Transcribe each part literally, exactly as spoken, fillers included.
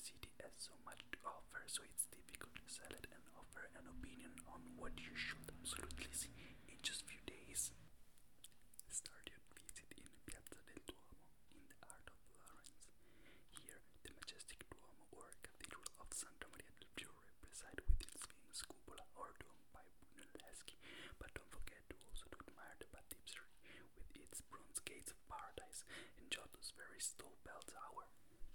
city has so much to offer, so it's difficult to sell it and offer an opinion on what you should absolutely see in just few days. Start your visit in Piazza del Duomo, in the heart of Florence. Here, the majestic Duomo or Cathedral of Santa Maria del Fiore preside with its famous cupola or dome by Brunelleschi, but don't forget to also to admire the Baptistery with its bronze gates of paradise and Giotto's very tall bell tower.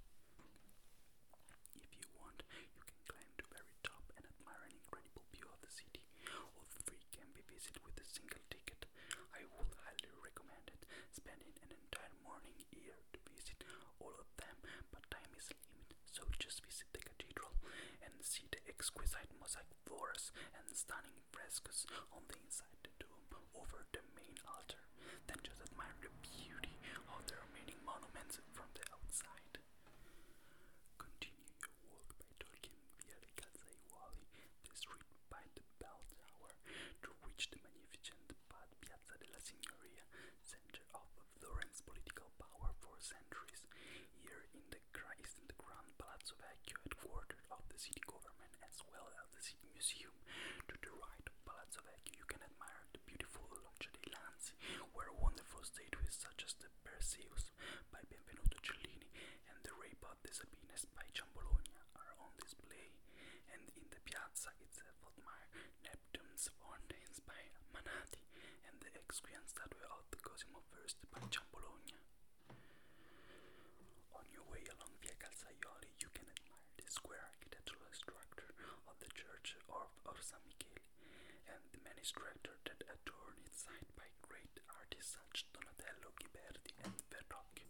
If you want, you can climb to the very top and admire an incredible view of the city. All three can be visited with a single ticket. I would highly recommend it, spending an entire morning here to visit all of them, but time is limited, so just visit the cathedral and see the exquisite mosaic floors and stunning frescoes on the inside the dome over the main altar. Then just admire the beauty of the remaining monuments from the outside. Continue your walk by taking via the Calzaiuoli, the street by the bell tower, to reach the magnificent Piazza della Signoria, center of Florence political power for centuries. Here in the is in the Grand Palazzo Vecchio, headquarters of the city government, as well as the city museum. To the right of Palazzo Vecchio, you can admire the beautiful Loggia dei Lanzi, where wonderful statues such as the Perseus by Benvenuto Cellini and the Rape of the Sabines by Ciambologna are on display. And in the piazza itself, admire Neptune's fountains by Manati and the exquisite statue of the Cosimo the First by Ciambologna. On your way along Via Calzaioli, you can admire the square architectural structure of the church of, of San Michele and the many structures that adorn its site by great artists such Donatello, Ghiberti, and Verrocchio.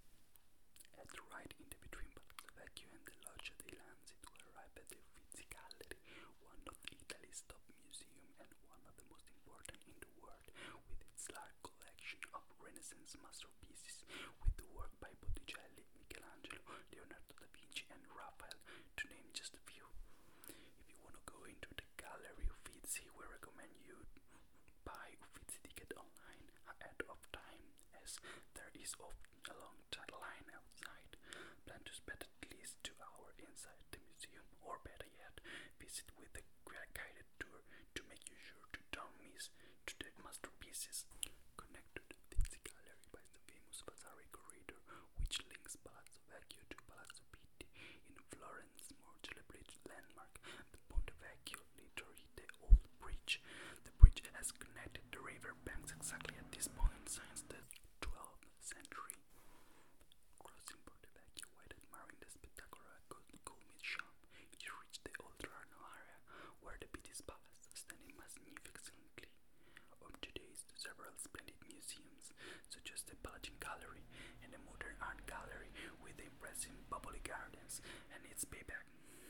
At the right, in the between Palazzo Vecchio and the Loggia dei Lanzi, to arrive at the Uffizi Gallery, one of Italy's top museums and one of the most important in the world, with its large collection of Renaissance masterpieces, with the work by Botticelli, Michelangelo, Leonardo da Vinci, and Raphael, to name just a few. If you want to go into the Gallery Uffizi, we recommend you buy Uffizi ticket online ahead of time, as there is often a long line outside. Plan to spend at least two hours inside the museum, or better yet, visit with a guided tour to make you sure to don't miss to the masterpieces. Connect to the Uffizi Gallery by the famous Vasari corridor, which links Palazzo Vecchio to Palazzo Pitti. In Florence, more celebrated landmark, the Ponte Vecchio, literally the old bridge. The bridge has connected the river banks exactly at this point since the twelfth century. Crossing Ponte Vecchio while admiring the spectacular Goldsmith shop, you reach the Oltrarno area, where the Pitti's palace standing magnificently. Home today is to several splendid museums, such as the Palatine Gallery and the Modern Art Gallery, with the impressive bubbly gardens and its payback.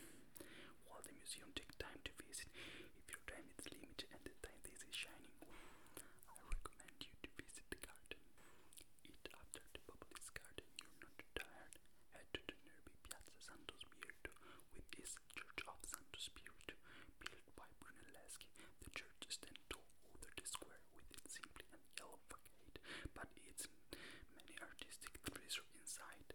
While the museum takes time to visit, if your time is limited and the time this is shining, I recommend you to visit the garden. Eat after the Bubbly's garden, you're not too tired. Head to the nearby Piazza Santo Spirito, with its Church of Santo Spirito, built by Brunelleschi. The church stands tall over the square with its simple and yellow facade, but its many artistic treasures inside.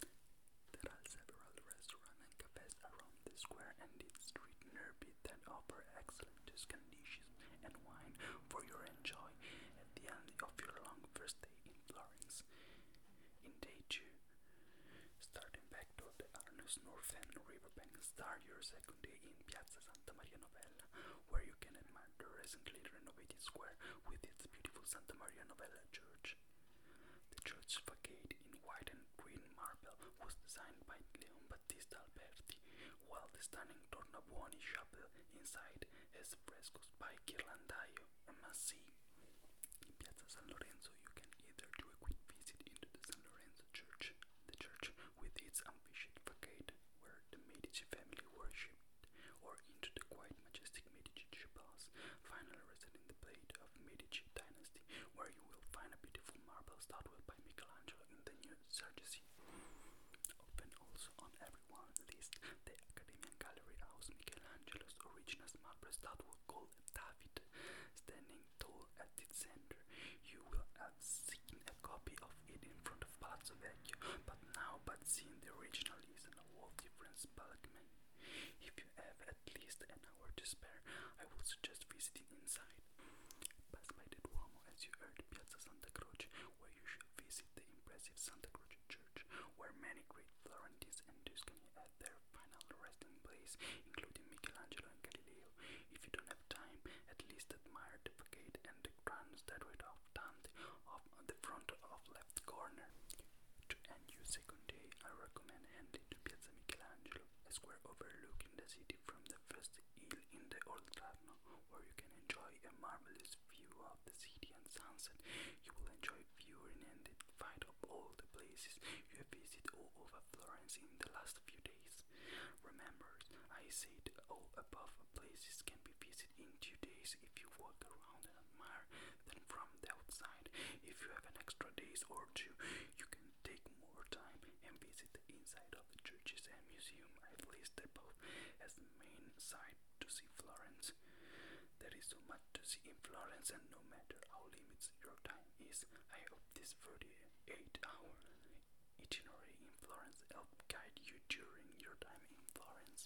There are several restaurants and cafes around the square and its street nearby that offer excellent Tuscan dishes and wine for your enjoy at the end of your long first day in Florence. In day two, starting back to the Arno's Northern Riverbank, start your second day in Piazza Santa Maria Novella, where you can admire the recently renovated square with its beautiful Santa Maria Novella church. The church facade in white and green marble was designed by Leon Battista Alberti, while the stunning Tornabuoni chapel inside has frescoes by Ghirlandaio and Massi. In Piazza San Lorenzo, you can either do a quick visit into the San Lorenzo Church, the church with its ambitious facade where the Medici family worshipped, or into the quite majestic Medici chapels, finally residing the plate of Medici dynasty, where you will find a beautiful marble statue by Michelangelo in the new Sergesi. Open also on everyone's list, the Academian Gallery house Michelangelo's original marble statue called David, standing tall at its center. You will have seen a copy of it in front of Palazzo Vecchio, but now but seeing the original is a whole different Museum's balcony. If you have at least an hour to spare, I would suggest visiting inside. Pass by the Duomo as you enter Piazza Santa Croce, where you should visit the impressive Santa Croce Church, where many great Florentines and Tuscany had their final resting place, including Michelangelo and Galileo. If you don't have time, at least admire the facade and the grand statue of Dante off on the front of left corner. To end your second day, I recommend heading to Piazza Michelangelo, a square overlooking the city from the first hill in the Old Gradno, where you can enjoy a marvelous view of the city and sunset. You will enjoy viewing and the fight of all the places you have visited all over Florence in the last few days. Remember, I said all above places can be visited in two days if you walk around and admire them from the outside. If you have an extra days or two, you can take more time and visit the inside of the churches and museum. I've listed both as the main site to see Florence. There is so much to see in Florence, and no matter how limited your time is, I hope this thirty-eight hour itinerary in Florence helped guide you during your time in Florence.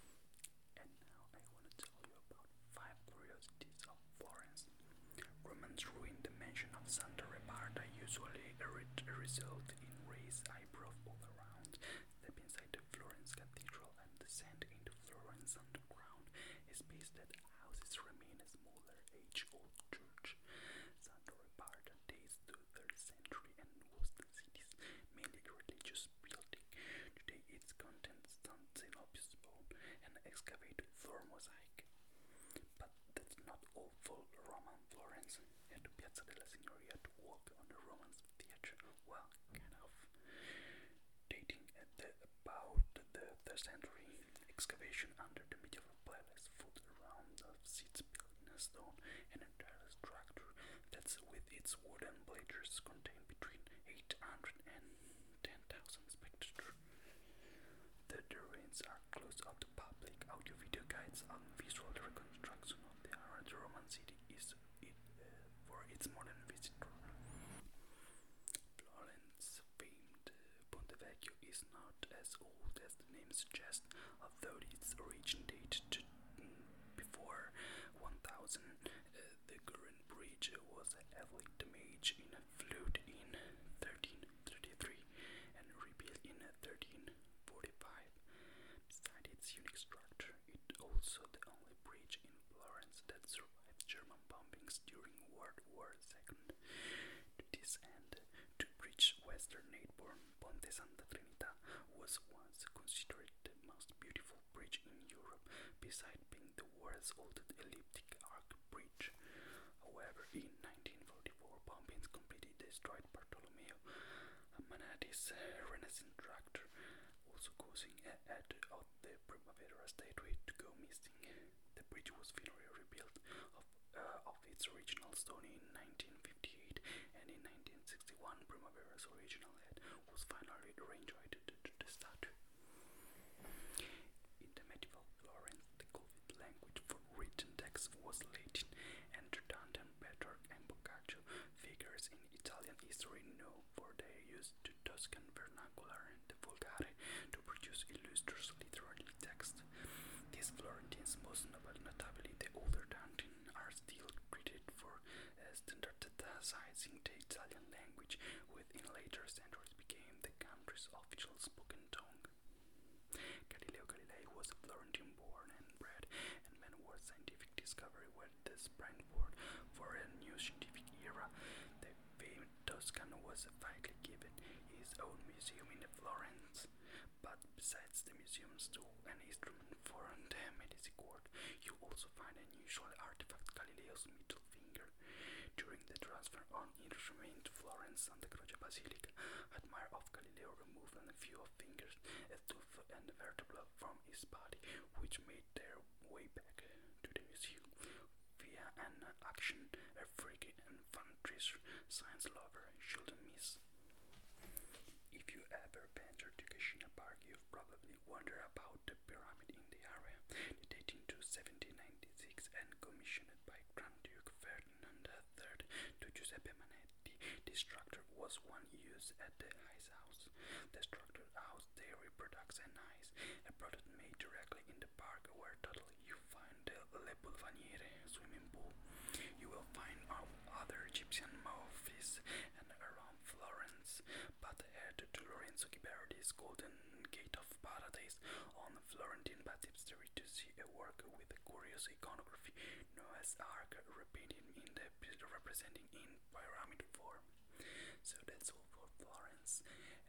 And now I want to tell you about five curiosities of Florence. Romans ruined the mansion of Santa Reparta, usually a re- result in raised eyebrows all around. Step inside the Florence Cathedral and descend into Florence underground, a space that houses remain a smaller age-old church. Santa Reparta dates to the third century and was the city's mainly religious building. Today its contents stand in obscure and excavated floor mosaic. But that's not all for Roman Florence. At the Piazza della Signoria to walk on the Roman theatre, well, kind of dating at the about the third century. Excavation under the medieval palace foot around of seats built in a stone and entire structure that's with its wooden bleachers contain between eight hundred and ten thousand spectators. The, the ruins are closed up to public. Audio video guides on visual reconstruction of the ancient Roman city is it, uh, for its modern visitor. Florence famed Ponte Vecchio is not as old as the name suggests, although its origin dates to mm, before one thousand. Uh, the current bridge was heavily damaged in a flood in thirteen thirty-three and rebuilt in thirteen forty-five. Besides its unique structure, it also the only bridge in Florence that survived German bombings during World War Two. To this end, to bridge western neighbor Ponte Santa Trinita was once considered the most beautiful bridge in Europe, besides being the world's oldest elliptic arch bridge. However, in nineteen forty-four, bombings completely destroyed Bartolomeo Manati's uh, Renaissance structure, also causing a head of the Primavera statue to go missing. The bridge was finally rebuilt of, uh, of its original stone in nineteen fifty-eight, and in nineteen sixty-one, Primavera's original head was finally rejoined to the statue. In the medieval Florence, the Gothic language for written text was Latin, and Dante, Petrarch, and Boccaccio, figures in Italian history known for their use to Tuscan vernacular, the Vulgate, to produce illustrious literary text. These Florentines, most notably the older Dante, are still credited for uh, standardizing the Italian language, which in later centuries became the country's official spoken tongue. Galileo Galilei was a Florentine born and bred, and many were scientific discovery were the springboard for a new scientific era. The famed Tuscan was widely given his own museum in Florence. But besides the museum's tool and instrument for the Medici court, you also find an unusual artifact, Galileo's middle finger. During the transfer on instrument to Florence Santa Croce Basilica, admire of Galileo removed a few of fingers, a tooth and a vertebra from his body, which made their way back to the museum via an action a freaky and fun treasure science lover shouldn't miss. If you ever venture to Cascina Park, you've probably wondered about the pyramid in the area, dating to seventeen ninety-six and commissioned by Grand Duke Ferdinand the third to Giuseppe Manetti. The structure was one used at the ice house. The structure housed dairy products and ice, a product made directly in the park, where totally you find the Le Boulevaniere swimming pool. You will find um, other Egyptian movies and around Florence, but head to Lorenzo Ghiberti's Golden Gate of Paradise on Florentine Baptistery to see a work with a curious iconography, Noah's Ark repainted in the representing in pyramid form. So that's all for Florence.